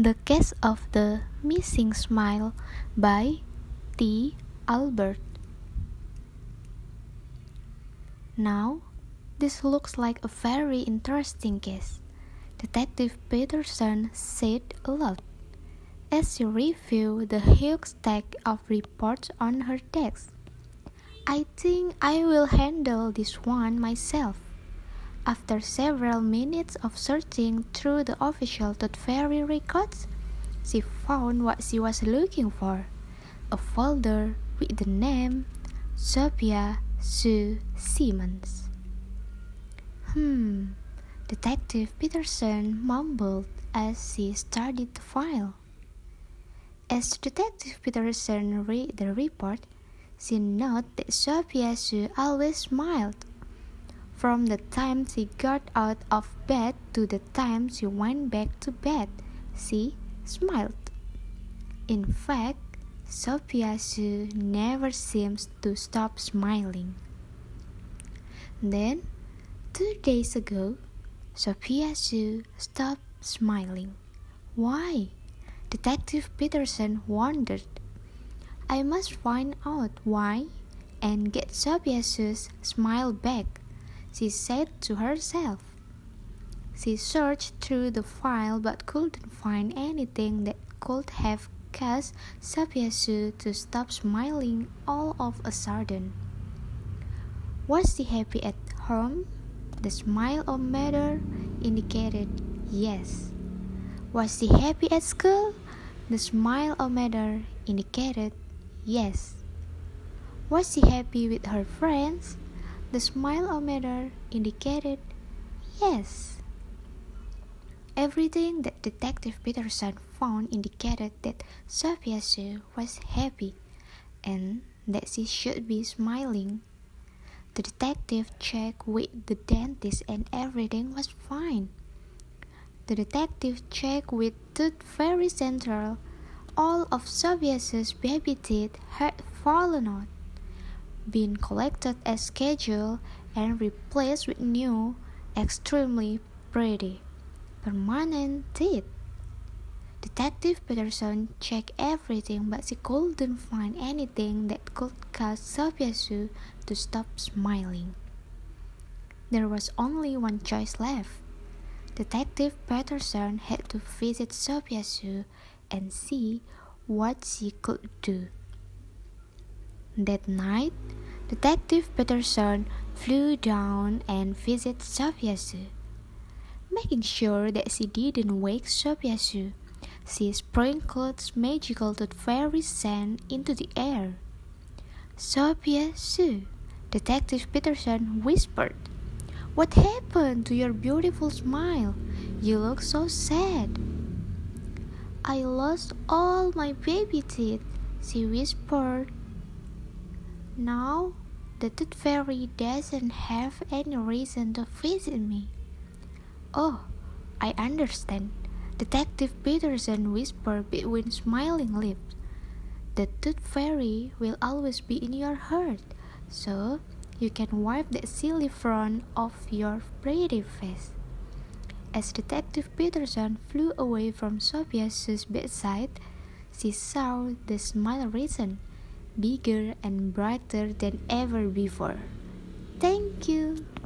The Case of the Missing Smile by T. Albert. Now, this looks like a very interesting case, Detective Peterson said aloud, as she reviewed the huge stack of reports on her desk. I think I will handle this one myself. After several minutes of searching through the official Tooth Fairy records, she found what she was looking for, a folder with the name Sophia Sue Simmons. Detective Peterson mumbled as she studied the file. As Detective Peterson read the report, she noted that Sophia Sue always smiled. From the time she got out of bed to the time she went back to bed, she smiled. In fact, Sophia Sue never seems to stop smiling. Then, 2 days ago, Sophia Sue stopped smiling. Why? Detective Peterson wondered. I must find out why and get Sophia Sue's smile back, she said to herself. She searched through the file but couldn't find anything that could have caused Sophia Sue to stop smiling all of a sudden. Was she happy at home? The smile-o-meter indicated yes. Was she happy at school? The smile-o-meter indicated yes. Was she happy with her friends? The smile-o-meter indicated yes. Everything that Detective Peterson found indicated that Sophia Sue was happy and that she should be smiling. The detective checked with the dentist and everything was fine. The detective checked with Tooth Fairy Central. All of Sophia Sue's baby teeth had fallen out, been collected as scheduled, and replaced with new, extremely pretty, permanent teeth. Detective Peterson checked everything, but she couldn't find anything that could cause Sophia Sue to stop smiling. There was only one choice left. Detective Peterson had to visit Sophia Sue and see what she could do. That night, Detective Peterson flew down and visited Sophia Sue. Making sure that she didn't wake Sophia Sue, she sprinkled magical Tooth Fairy scent into the air. Sophia Sue, Detective Peterson whispered, "What happened to your beautiful smile? You look so sad." "I lost all my baby teeth," she whispered. "Now, the Tooth Fairy doesn't have any reason to visit me." "Oh, I understand," Detective Peterson whispered between smiling lips. "The Tooth Fairy will always be in your heart, so you can wipe that silly frown off your pretty face." As Detective Peterson flew away from Sophia Sue's bedside, she saw the smile risen, bigger and brighter than ever before. Thank you.